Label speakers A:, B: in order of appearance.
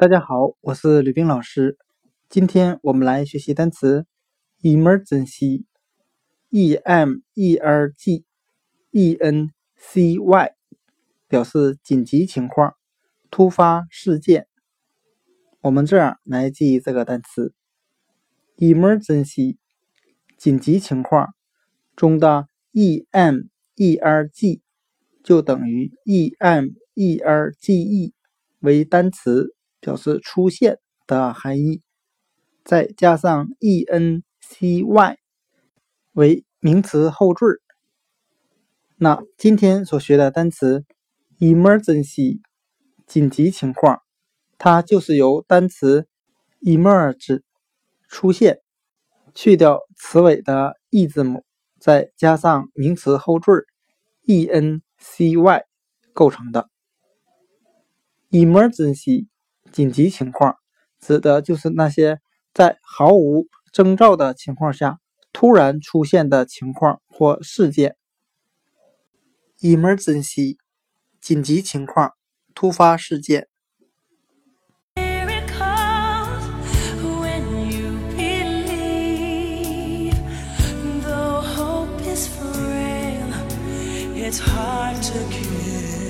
A: 大家好，我是吕冰老师。今天我们来学习单词 emergency， E-M-E-R-G-E-N-C-Y， 表示紧急情况、突发事件。我们这样来记忆这个单词 emergency， 紧急情况中的 E-M-E-R-G 就等于 E-M-E-R-G-E 为单词，表示出现的含义，再加上 ENCY 为名词后缀。那今天所学的单词 emergency 紧急情况，它就是由单词 emerge 出现，去掉词尾的 e 字母，再加上名词后缀 ENCY 构成的。emergency 紧急情况指的就是那些在毫无征兆的情况下突然出现的情况或事件。emergency 紧急情况、突发事件。
B: It's hard to kill.